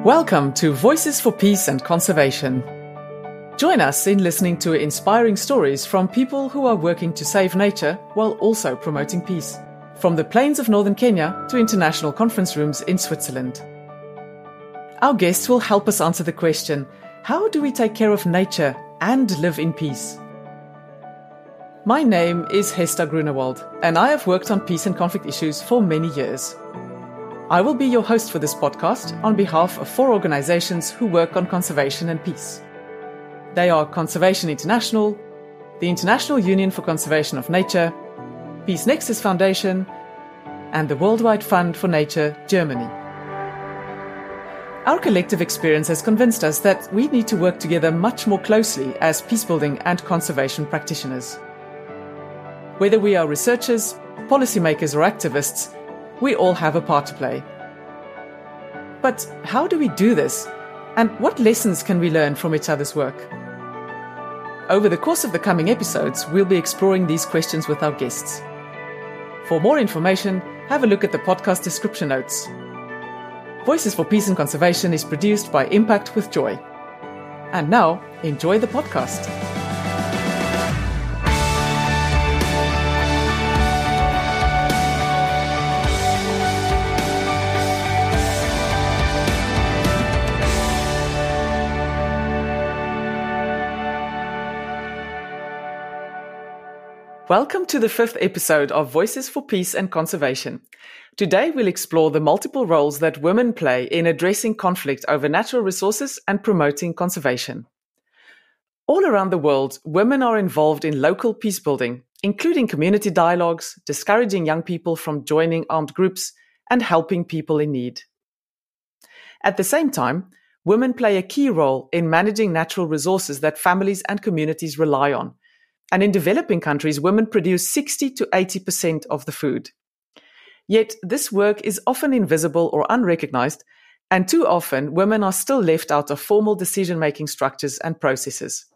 Welcome to Voices for Peace and Conservation. Join us in listening to inspiring stories from people who are working to save nature while also promoting peace. From the plains of northern Kenya to international conference rooms in Switzerland. Our guests will help us answer the question, how do we take care of nature and live in peace? My name is Hester Grunewald, and I have worked on peace and conflict issues for many years. I will be your host for this podcast on behalf of 4 organizations who work on conservation and peace. They are Conservation International, the International Union for Conservation of Nature, Peace Nexus Foundation, and the Worldwide Fund for Nature, Germany. Our collective experience has convinced us that we need to work together much more closely as peacebuilding and conservation practitioners. Whether we are researchers, policymakers, or activists, we all have a part to play. But how do we do this? And what lessons can we learn from each other's work? Over the course of the coming episodes, we'll be exploring these questions with our guests. For more information, have a look at the podcast description notes. Voices for Peace and Conservation is produced by Impact with Joy. And now, enjoy the podcast. Welcome to the 5th episode of Voices for Peace and Conservation. Today we'll explore the multiple roles that women play in addressing conflict over natural resources and promoting conservation. All around the world, women are involved in local peacebuilding, including community dialogues, discouraging young people from joining armed groups, and helping people in need. At the same time, women play a key role in managing natural resources that families and communities rely on. And in developing countries, women produce 60 to 80% of the food. Yet this work is often invisible or unrecognized, and too often women are still left out of formal decision-making structures and processes.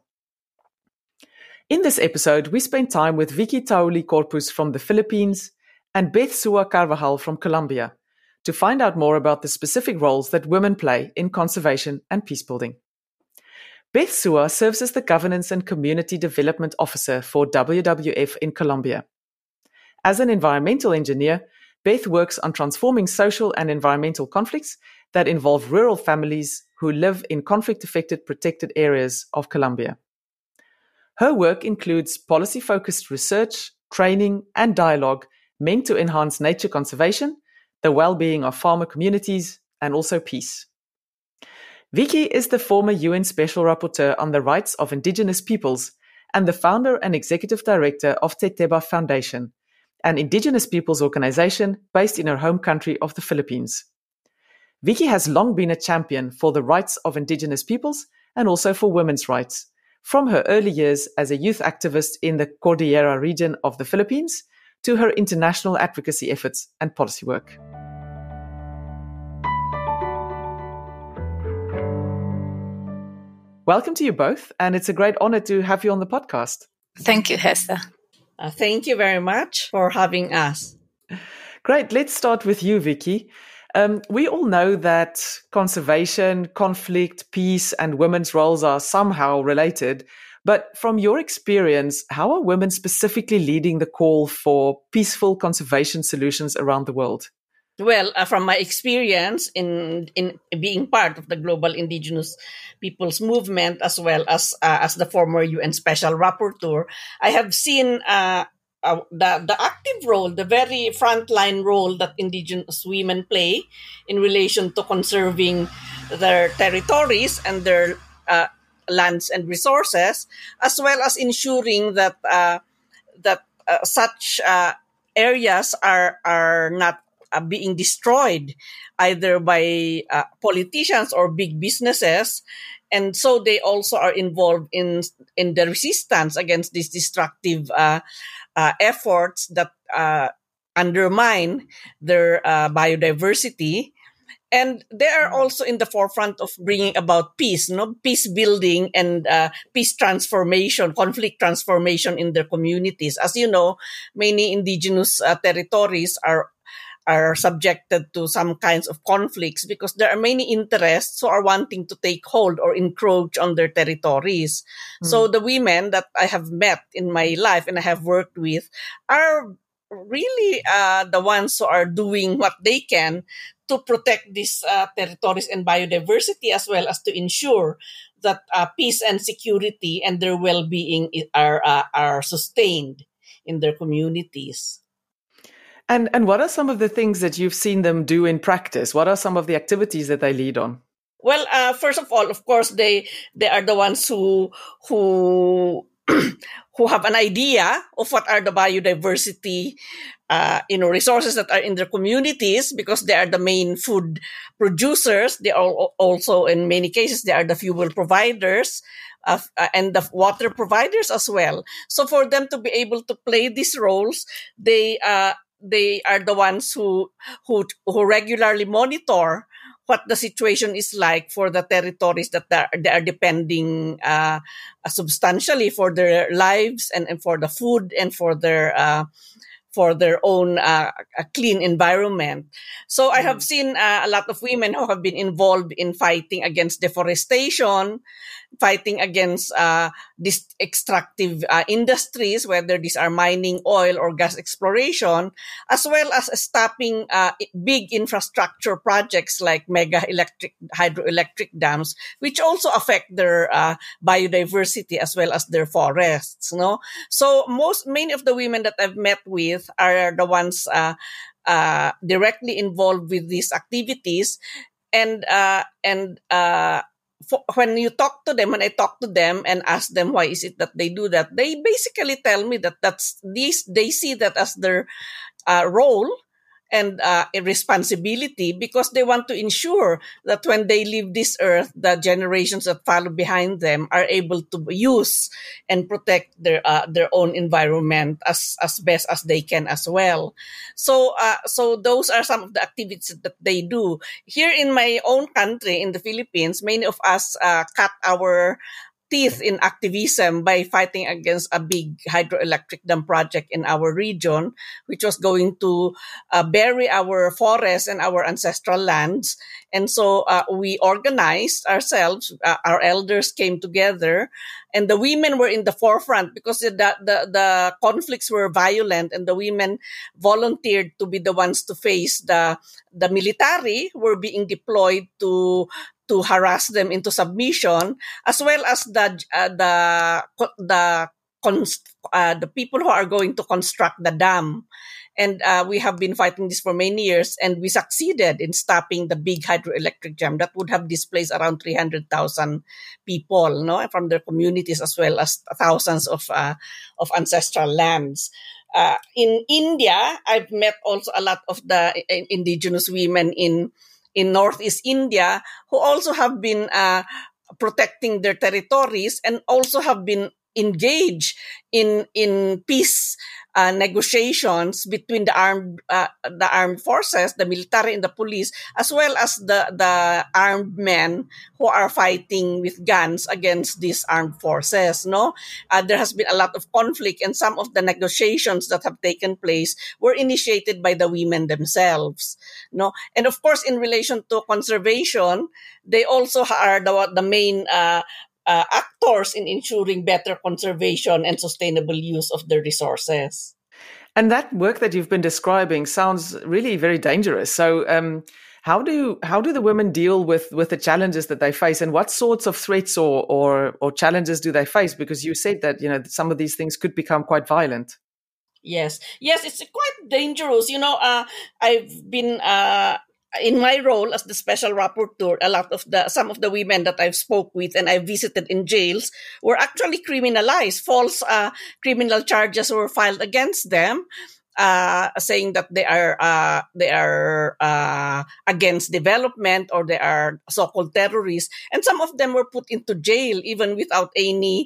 In this episode, we spend time with Vicky Tauli Corpus from the Philippines and Beth Sua Carvajal from Colombia to find out more about the specific roles that women play in conservation and peacebuilding. Beth Sua serves as the Governance and Community Development Officer for WWF in Colombia. As an environmental engineer, Beth works on transforming social and environmental conflicts that involve rural families who live in conflict-affected protected areas of Colombia. Her work includes policy-focused research, training, and dialogue meant to enhance nature conservation, the well-being of farmer communities, and also peace. Vicky is the former UN Special Rapporteur on the Rights of Indigenous Peoples and the founder and executive director of Teteba Foundation, an indigenous peoples organization based in her home country of the Philippines. Vicky has long been a champion for the rights of indigenous peoples and also for women's rights, from her early years as a youth activist in the Cordillera region of the Philippines to her international advocacy efforts and policy work. Welcome to you both, and it's a great honor to have you on the podcast. Thank you, Hester. Thank you very much for having us. Great. Let's start with you, Vicky. We all know that conservation, conflict, peace, and women's roles are somehow related. But from your experience, how are women specifically leading the call for peaceful conservation solutions around the world? Well, from my experience in being part of the global indigenous peoples movement, as well as the former UN Special Rapporteur, I have seen the active role, the very frontline role that indigenous women play in relation to conserving their territories and their lands and resources, as well as ensuring that such areas are not being destroyed either by politicians or big businesses. And so they also are involved in the resistance against these destructive efforts that undermine their biodiversity. And they are also in the forefront of bringing about peace, peace building and peace transformation, conflict transformation in their communities. As you know, many indigenous territories are are subjected to some kinds of conflicts because there are many interests who are wanting to take hold or encroach on their territories. So the women that I have met in my life and I have worked with are really the ones who are doing what they can to protect these territories and biodiversity, as well as to ensure that peace and security and their well-being are sustained in their communities. And what are some of the things that you've seen them do in practice? What are some of the activities that they lead on? Well, first of all, of course, they are the ones who who have an idea of what are the biodiversity resources that are in their communities, because they are the main food producers. They are also, in many cases, they are the fuel providers and the water providers as well. So for them to be able to play these roles, they are the ones who regularly monitor what the situation is like for the territories that they are depending substantially for their lives and for the food and for their own clean environment. So I have seen a lot of women who have been involved in fighting against deforestation, fighting against these extractive industries, whether these are mining, oil, or gas exploration, as well as stopping big infrastructure projects like hydroelectric dams, which also affect their biodiversity as well as their forests. No, so many of the women that I've met with are the ones directly involved with these activities, and when I talk to them and ask them why is it that they do that, they basically tell me that they see that as their role and a responsibility, because they want to ensure that when they leave this earth, the generations that follow behind them are able to use and protect their own environment as best as they can as well. So those are some of the activities that they do. Here in my own country, in the Philippines, many of us cut our teeth in activism by fighting against a big hydroelectric dam project in our region, which was going to bury our forests and our ancestral lands. And so we organized ourselves. Our elders came together, and the women were in the forefront because the conflicts were violent, and the women volunteered to be the ones to face the military who were being deployed to harass them into submission, as well as the people who are going to construct the dam. And we have been fighting this for many years, and we succeeded in stopping the big hydroelectric dam that would have displaced around 300,000 people, no, from their communities, as well as thousands of ancestral lands. In India, I've met also a lot of the indigenous women in Northeast India who also have been protecting their territories and also have been engaged in peace negotiations between the armed forces, the military and the police, as well as the armed men who are fighting with guns against these armed forces. No, there has been a lot of conflict, and some of the negotiations that have taken place were initiated by the women themselves. No, and of course, in relation to conservation, they also are the main actors in ensuring better conservation and sustainable use of the resources. And that work that you've been describing sounds really very dangerous. So how do the women deal with the challenges that they face, and what sorts of threats or challenges do they face? Because you said that, some of these things could become quite violent. Yes, it's quite dangerous. I've been in my role as the special rapporteur, some of the women that I've spoke with and I visited in jails were actually criminalized. False criminal charges were filed against them, saying that they are against development, or they are so-called terrorists, and some of them were put into jail even without any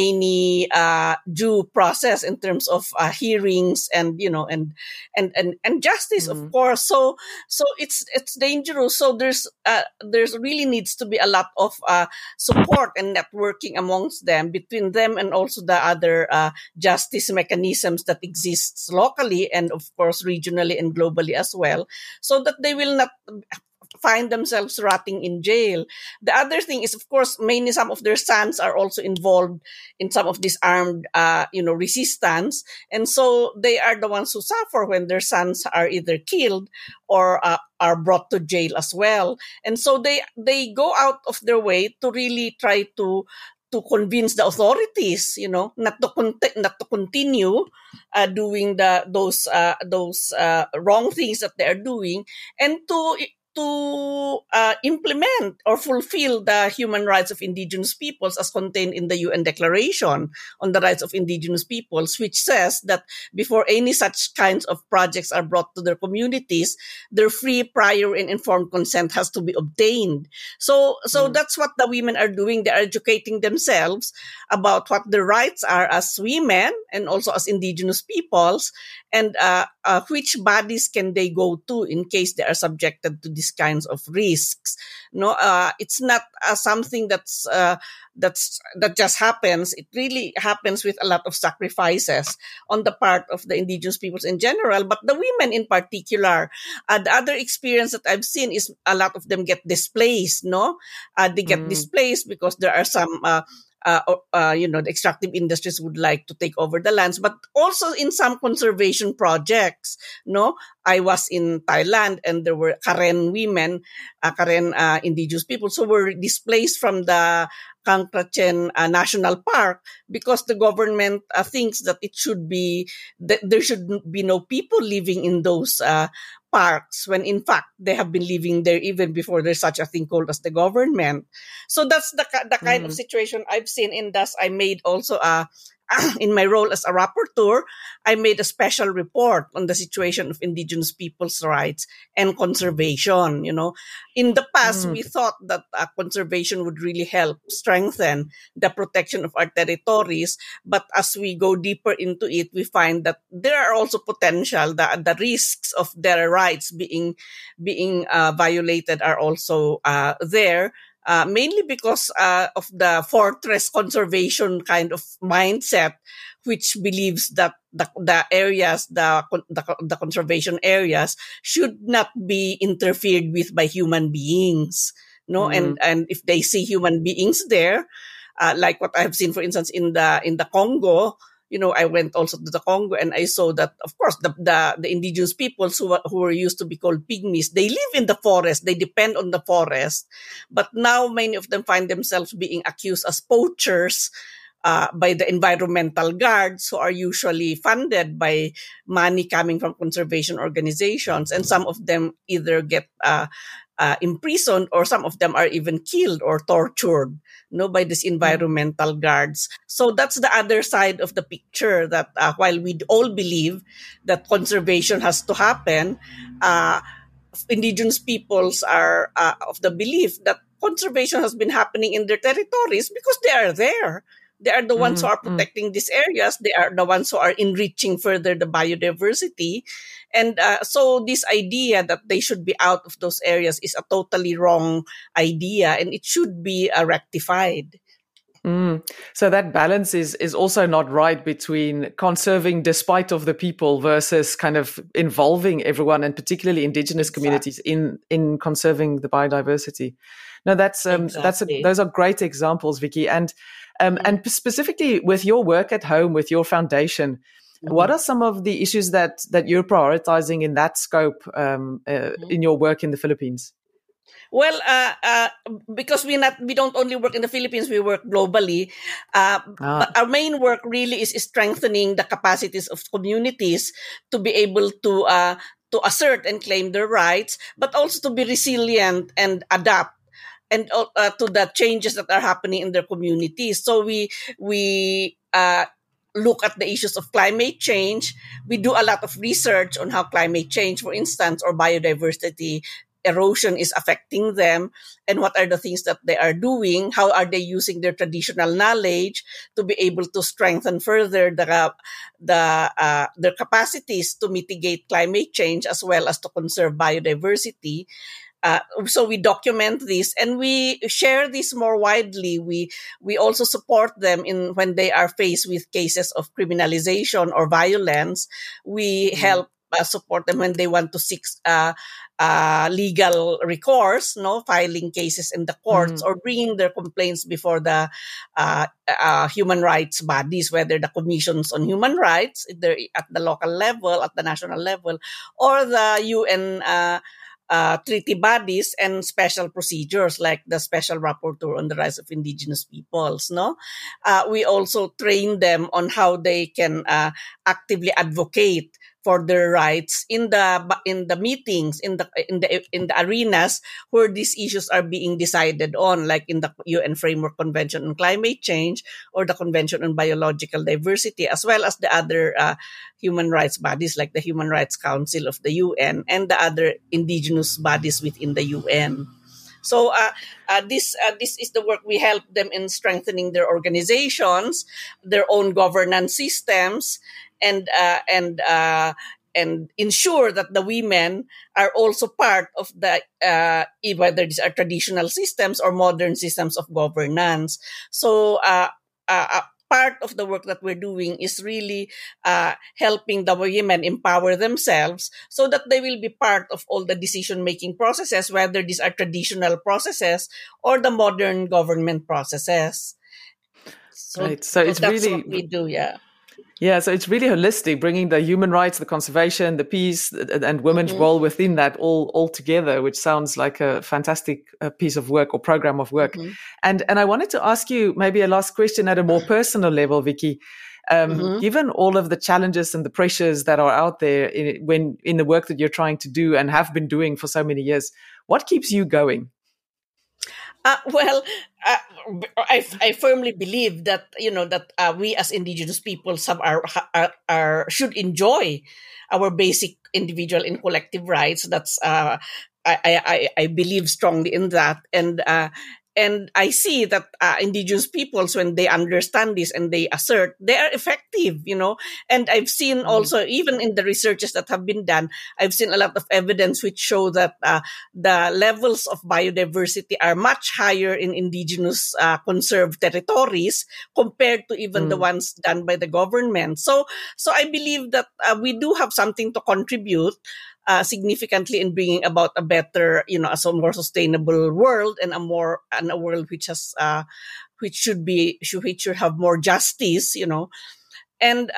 due process in terms of hearings and justice, of course. So it's dangerous. So there's really needs to be a lot of support and networking amongst them, between them and also the other justice mechanisms that exists locally, nationally and of course regionally and globally as well, so that they will not find themselves rotting in jail. The other thing is, of course, mainly some of their sons are also involved in some of this armed, resistance, and so they are the ones who suffer when their sons are either killed or are brought to jail as well. And so they go out of their way to really try to convince the authorities, not to continue doing those wrong things that they are doing, and to implement or fulfill the human rights of indigenous peoples as contained in the UN Declaration on the Rights of Indigenous Peoples, which says that before any such kinds of projects are brought to their communities, their free, prior, and informed consent has to be obtained. So that's what the women are doing. They are educating themselves about what their rights are as women and also as indigenous peoples, and which bodies can they go to in case they are subjected to these kinds of risks. It's not something that just happens. It really happens with a lot of sacrifices on the part of the indigenous peoples in general, but the women in particular. The other experience that I've seen is a lot of them get displaced. They get displaced because there are some the extractive industries would like to take over the lands, but also in some conservation projects. I was in Thailand and there were Karen women, Karen indigenous peoples who were displaced from the Kang Prachen National Park because the government thinks that that there should be no people living in those parks, when in fact they have been living there even before there's such a thing called as the government. So that's the kind of situation I've seen, and thus I made also in my role as a rapporteur, I made a special report on the situation of indigenous people's rights and conservation. In the past, we thought that conservation would really help strengthen the protection of our territories. But as we go deeper into it, we find that there are also potential, the risks of their rights being violated are also there. Mainly because of the fortress conservation kind of mindset, which believes that the areas, the conservation areas, should not be interfered with by human beings. And if they see human beings there, like what I have seen, for instance, in the Congo. I went also to the Congo and I saw that, of course, the indigenous peoples who were used to be called pygmies, they live in the forest, they depend on the forest. But now many of them find themselves being accused as poachers by the environmental guards, who are usually funded by money coming from conservation organizations. And some of them either get imprisoned, or some of them are even killed or tortured by these environmental guards. So that's the other side of the picture, that while we all believe that conservation has to happen, indigenous peoples are of the belief that conservation has been happening in their territories because they are there. They are the ones who are protecting these areas. They are the ones who are enriching further the biodiversity. And so this idea that they should be out of those areas is a totally wrong idea, and it should be rectified. So that balance is also not right between conserving despite of the people versus kind of involving everyone, and particularly indigenous communities in conserving the biodiversity. No, those are great examples, Vicky. And specifically with your work at home, with your foundation, what are some of the issues that you're prioritizing in that scope in your work in the Philippines? Well, because we don't only work in the Philippines, we work globally. But our main work really is strengthening the capacities of communities to be able to assert and claim their rights, but also to be resilient and adapt and to the changes that are happening in their communities. So we look at the issues of climate change. We do a lot of research on how climate change, for instance, or biodiversity erosion is affecting them, and what are the things that they are doing, how are they using their traditional knowledge to be able to strengthen further their capacities to mitigate climate change as well as to conserve biodiversity. So we document this and we share this more widely. We also support them in when they are faced with cases of criminalization or violence. We help support them when they want to seek legal recourse, no, filing cases in the courts or bringing their complaints before the human rights bodies, whether the commissions on human rights, either at the local level, at the national level, or the UN treaty bodies and special procedures like the Special Rapporteur on the Rights of Indigenous Peoples. No, we also train them on how they can actively advocate for their rights in the meetings, in the arenas where these issues are being decided on, like in the UN Framework Convention on Climate Change or the Convention on Biological Diversity, as well as the other human rights bodies like the Human Rights Council of the UN and the other indigenous bodies within the UN. So this is the work. We help them in strengthening their organizations, their own governance systems, and ensure that the women are also part of the whether these are traditional systems or modern systems of governance. So part of the work that we're doing is really helping the women empower themselves so that they will be part of all the decision-making processes, whether these are traditional processes or the modern government processes. So, right. So it's that's really what we do, yeah. Yeah, so it's really holistic, bringing the human rights, the conservation, the peace, and women's role within that all together, which sounds like a fantastic piece of work or program of work. And I wanted to ask you maybe a last question at a more personal level, Vicky. Given all of the challenges and the pressures that are out there in the work that you're trying to do and have been doing for so many years, what keeps you going? I firmly believe that we as indigenous peoples should enjoy our basic individual and collective rights. That's I believe strongly in that, and I see that indigenous peoples, when they understand this and they assert, they are effective, And I've seen also, even in the researches that have been done, I've seen a lot of evidence which show that the levels of biodiversity are much higher in indigenous conserved territories compared to even the ones done by the government. So I believe that we do have something to contribute significantly in bringing about a better, a more sustainable world and a world which has which should have more justice, and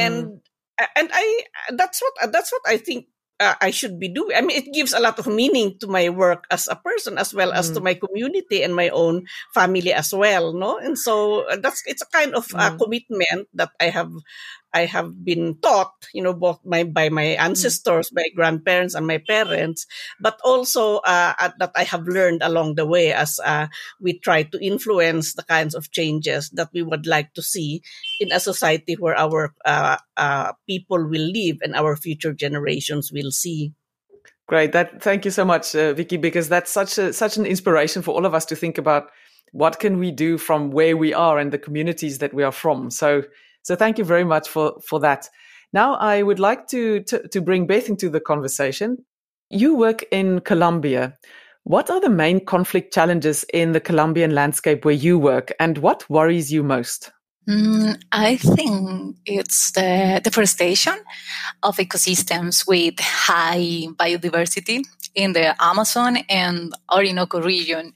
I that's what I think I should be doing. I mean, it gives a lot of meaning to my work as a person, as well as to my community and my own family as well, no? And so it's a kind of commitment that I have been taught, both by my ancestors, my grandparents, and my parents, but also that I have learned along the way as we try to influence the kinds of changes that we would like to see in a society where our people will live and our future generations will see. Great. Thank you so much, Vicky, because that's such an inspiration for all of us to think about what can we do from where we are and the communities that we are from. So thank you very much for that. Now, I would like to bring Beth into the conversation. You work in Colombia. What are the main conflict challenges in the Colombian landscape where you work, and what worries you most? I think it's the deforestation of ecosystems with high biodiversity in the Amazon and Orinoco region.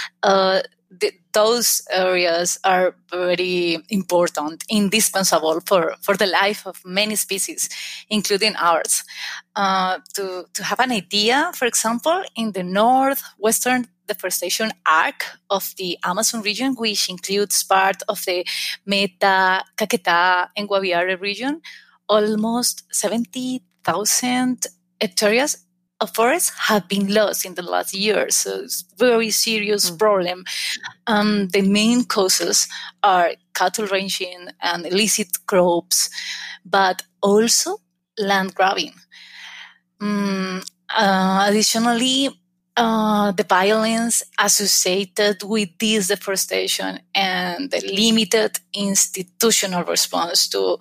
Those areas are very important, indispensable for the life of many species, including ours. To have an idea, for example, in the northwestern deforestation arc of the Amazon region, which includes part of the Meta, Caquetá, and Guaviare region, almost 70,000 hectares of forests have been lost in the last year. So it's a very serious problem. The main causes are cattle ranching and illicit crops, but also land grabbing. Additionally, the violence associated with this deforestation and the limited institutional response to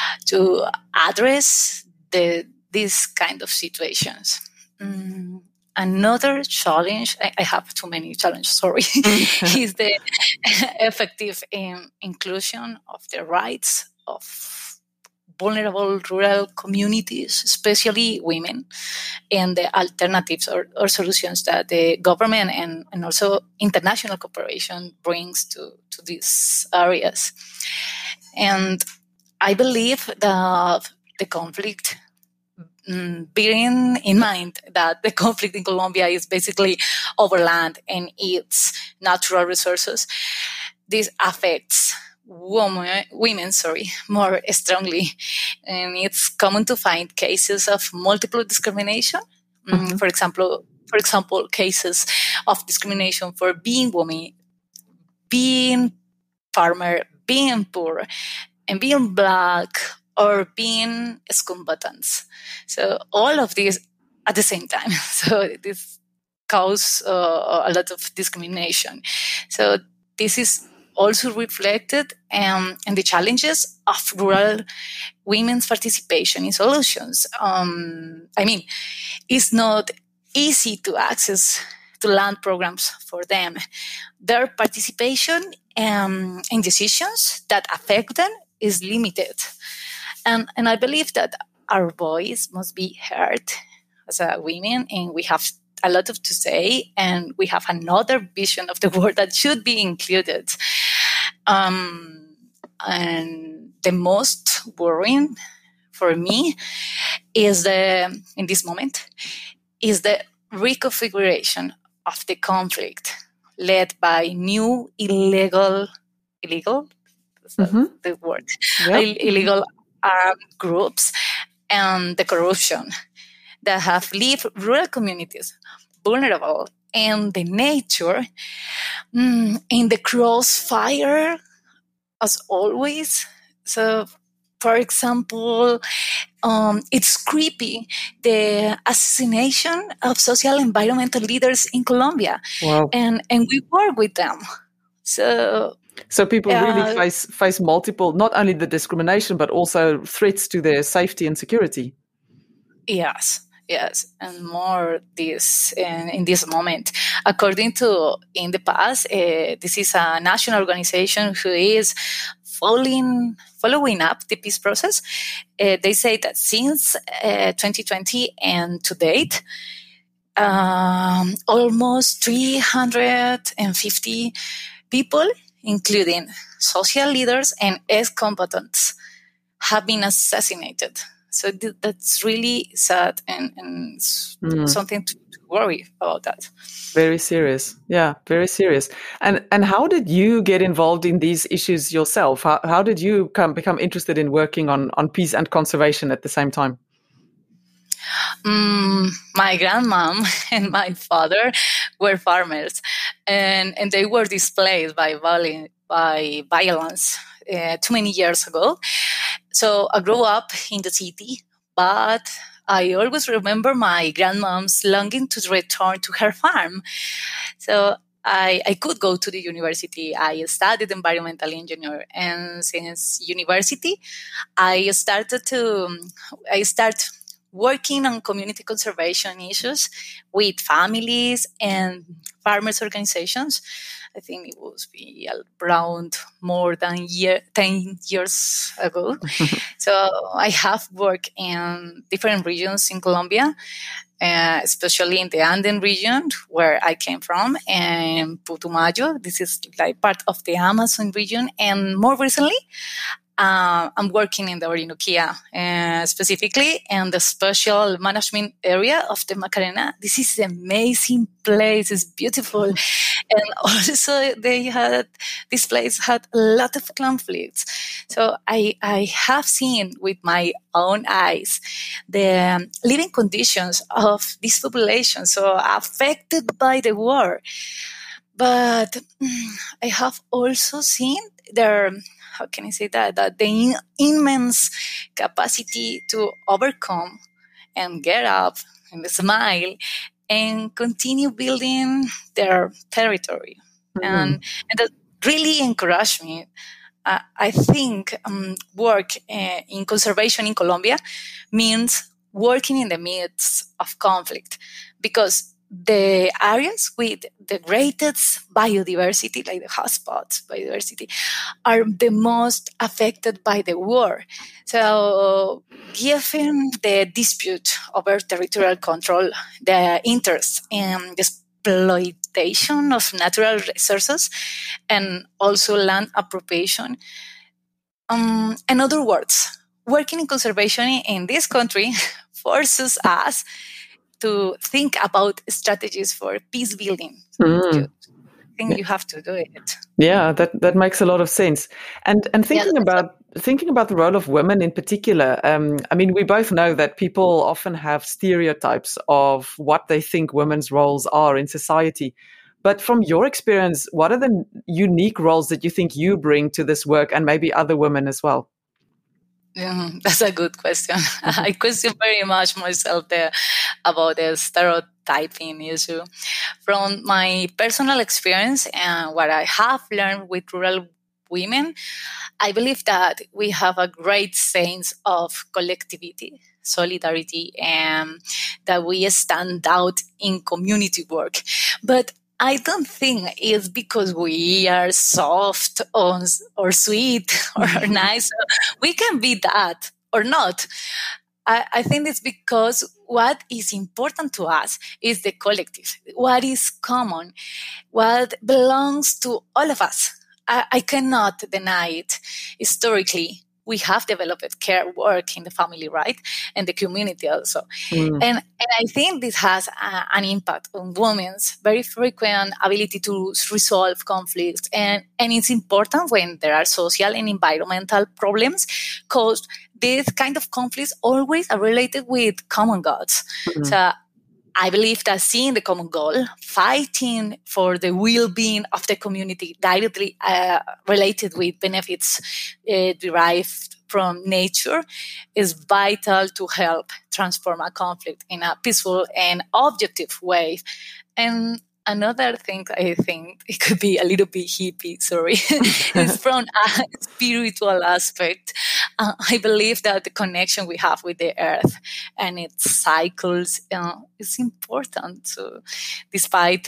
address these kind of situations. another challenge, I have too many challenges, sorry, is the effective inclusion of the rights of vulnerable rural communities, especially women, and the alternatives or solutions that the government and also international cooperation brings to these areas. And I believe that the conflict, bearing in mind that the conflict in Colombia is basically over land and its natural resources, this affects women more strongly. And it's common to find cases of multiple discrimination. For example, cases of discrimination for being woman, being farmer, being poor, and being Black, or being ex-combatants. So all of these at the same time. So this causes a lot of discrimination. So this is also reflected in the challenges of rural women's participation in solutions. It's not easy to access to land programs for them. Their participation in decisions that affect them is limited. And I believe that our voice must be heard as a women, and we have a lot to say, and we have another vision of the world that should be included. And the most worrying for me is in this moment is the reconfiguration of the conflict led by new illegal, the word, illegal armed groups, and the corruption that have left rural communities vulnerable, and the nature in the crossfire as always. So, for example, it's creepy, the assassination of social environmental leaders in Colombia. Wow. And we work with them. So people really face multiple, not only the discrimination, but also threats to their safety and security. Yes, and more this in this moment. According to in the past, this is a national organization who is following up the peace process. They say that since 2020 and to date, almost 350 people, including social leaders and ex-combatants, have been assassinated. So that's really sad and something to worry about that. Very serious. Yeah, very serious. And how did you get involved in these issues yourself? How did you become interested in working on peace and conservation at the same time? My grandmom and my father were farmers, and they were displaced by violence too many years ago. So I grew up in the city, but I always remember my grandmom's longing to return to her farm. So I could go to the university. I studied environmental engineering, and since university, I started working on community conservation issues with families and farmers organizations. I think it was around more than 10 years ago. So I have worked in different regions in Colombia, especially in the Andean region where I came from, and Putumayo. This is like part of the Amazon region. And more recently, I'm working in the Orinoquia, specifically in the special management area of the Macarena. This is an amazing place. It's beautiful. And also this place had a lot of conflicts. So I have seen with my own eyes the living conditions of this population, so affected by the war. But I have also seen their, how can I say that the immense capacity to overcome and get up and smile and continue building their territory. And that really encouraged me. I think work in conservation in Colombia means working in the midst of conflict, because the areas with the greatest biodiversity, like the hotspots biodiversity, are the most affected by the war. So, given the dispute over territorial control, the interest in the exploitation of natural resources, and also land appropriation. In other words, working in conservation in this country forces us to think about strategies for peace building. I think you have to do it. Yeah, that makes a lot of sense. And thinking about the role of women in particular, I mean, we both know that people often have stereotypes of what they think women's roles are in society. But from your experience, what are the unique roles that you think you bring to this work, and maybe other women as well? That's a good question. I question very much myself there about the stereotyping issue. From my personal experience and what I have learned with rural women, I believe that we have a great sense of collectivity, solidarity, and that we stand out in community work. But I don't think it's because we are soft or sweet or nice. We can be that or not. I think it's because what is important to us is the collective, what is common, what belongs to all of us. I cannot deny it. Historically, we have developed care work in the family, right? And the community also. And I think this has an impact on women's very frequent ability to resolve conflicts. And it's important when there are social and environmental problems, because these kind of conflicts always are related with common goals. So I believe that seeing the common goal, fighting for the well-being of the community directly related with benefits derived from nature is vital to help transform a conflict in a peaceful and objective way. And another thing I think it could be a little bit hippie, is from a spiritual aspect. I believe that the connection we have with the earth and its cycles is important. So, despite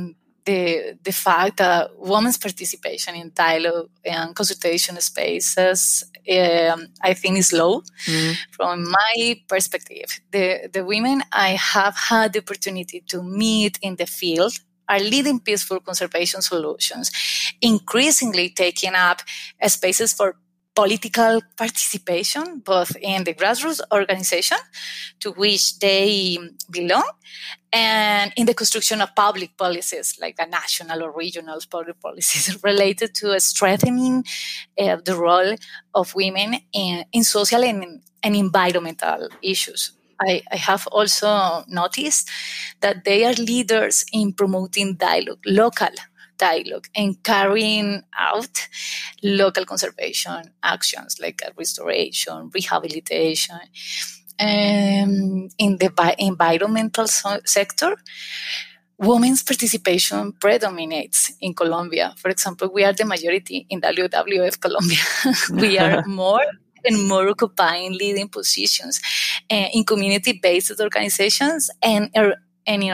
the fact that women's participation in dialogue and consultation spaces, I think, is low. From my perspective, the women I have had the opportunity to meet in the field are leading peaceful conservation solutions, increasingly taking up spaces for political participation, both in the grassroots organization to which they belong and in the construction of public policies, like the national or regional public policies related to strengthening the role of women in social and environmental issues. I have also noticed that they are leaders in promoting dialogue, local dialogue, and carrying out local conservation actions like restoration, rehabilitation. In the environmental sector, women's participation predominates in Colombia. For example, we are the majority in WWF Colombia. We are more and more occupying leading positions in community-based organizations and in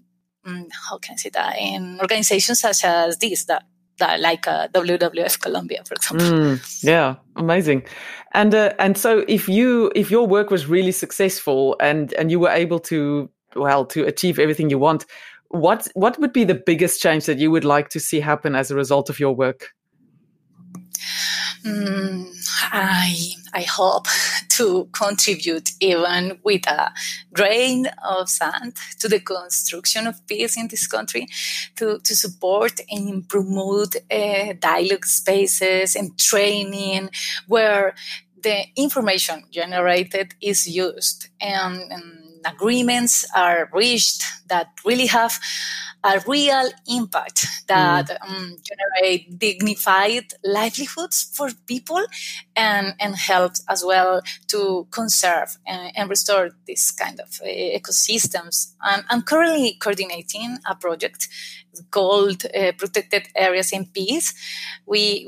organizations such as this, that like WWF Colombia, for example. Yeah, amazing. And so if your work was really successful and you were able to achieve everything you want, what would be the biggest change that you would like to see happen as a result of your work? I hope to contribute even with a grain of sand to the construction of peace in this country, to support and promote dialogue spaces and training where the information generated is used and agreements are reached that really have a real impact, that generate dignified livelihoods for people and help as well to conserve and restore this kind of ecosystems. I'm currently coordinating a project called Protected Areas in Peace. We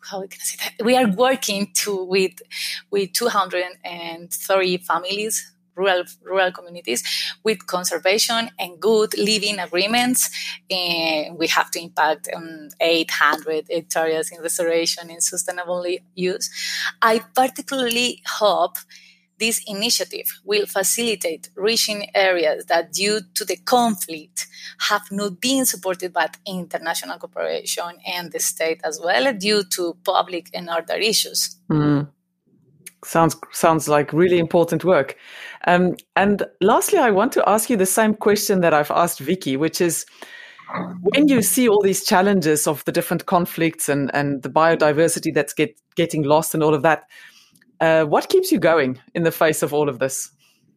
are working with 230 families rural communities with conservation and good living agreements. And we have to impact 800 hectares in restoration and sustainable use. I particularly hope this initiative will facilitate reaching areas that, due to the conflict, have not been supported by international cooperation and the state as well, due to public and other issues. Sounds like really important work. And lastly, I want to ask you the same question that I've asked Vicky, which is, when you see all these challenges of the different conflicts and the biodiversity that's getting lost and all of that, what keeps you going in the face of all of this?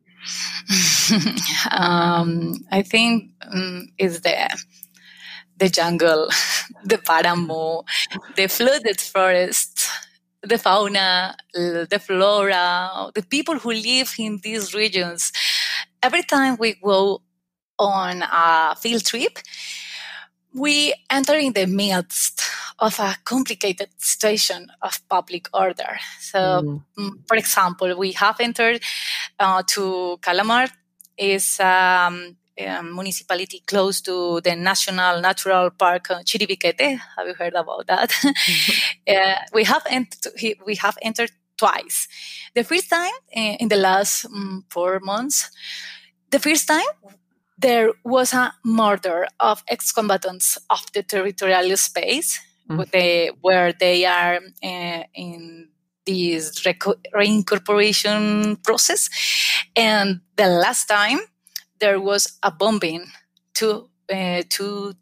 I think it's the jungle, the páramo, the flooded forest, the fauna, the flora, the people who live in these regions. Every time we go on a field trip, we enter in the midst of a complicated situation of public order. So, for example, we have entered to Calamar, is a municipality close to the National Natural Park Chiribiquete. Have you heard about that? We have entered twice. The first time in the last 4 months. The first time, there was a murder of ex-combatants of the territorial space, where they are in this reincorporation process. And the last time, there was a bombing 200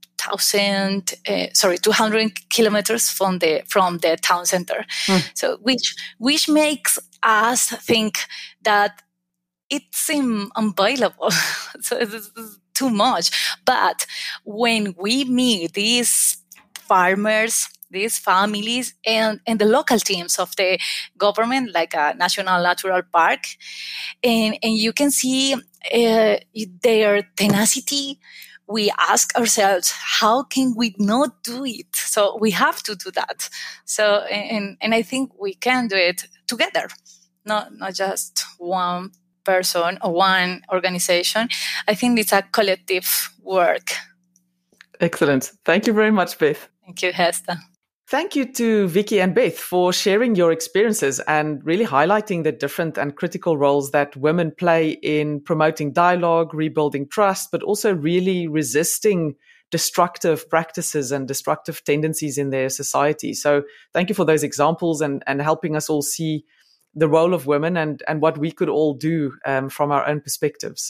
kilometers from the town center. So which makes us think that it seems unviable. So it's too much. But when we meet these farmers, these families, and the local teams of the government, like a National Natural Park, and you can see their tenacity, we ask ourselves, how can we not do it? So we have to do that. So, and I think we can do it together, not just one person or one organization. I think it's a collective work. Excellent. Thank you very much, Beth. Thank you, Hester. Thank you to Vicky and Beth for sharing your experiences and really highlighting the different and critical roles that women play in promoting dialogue, rebuilding trust, but also really resisting destructive practices and destructive tendencies in their society. So thank you for those examples and helping us all see the role of women and what we could all do from our own perspectives.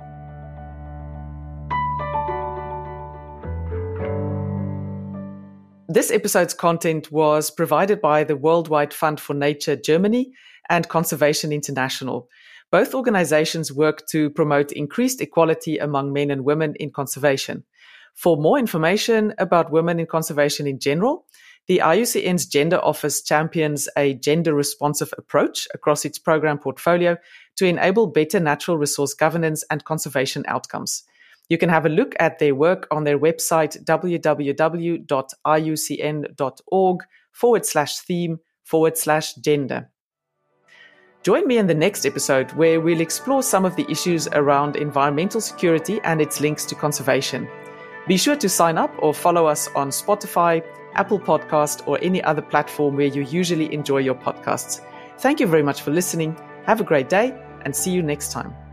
This episode's content was provided by the Worldwide Fund for Nature Germany and Conservation International. Both organizations work to promote increased equality among men and women in conservation. For more information about women in conservation in general, the IUCN's Gender Office champions a gender-responsive approach across its program portfolio to enable better natural resource governance and conservation outcomes. You can have a look at their work on their website, www.iucn.org/theme/gender. Join me in the next episode where we'll explore some of the issues around environmental security and its links to conservation. Be sure to sign up or follow us on Spotify, Apple Podcast, or any other platform where you usually enjoy your podcasts. Thank you very much for listening. Have a great day and see you next time.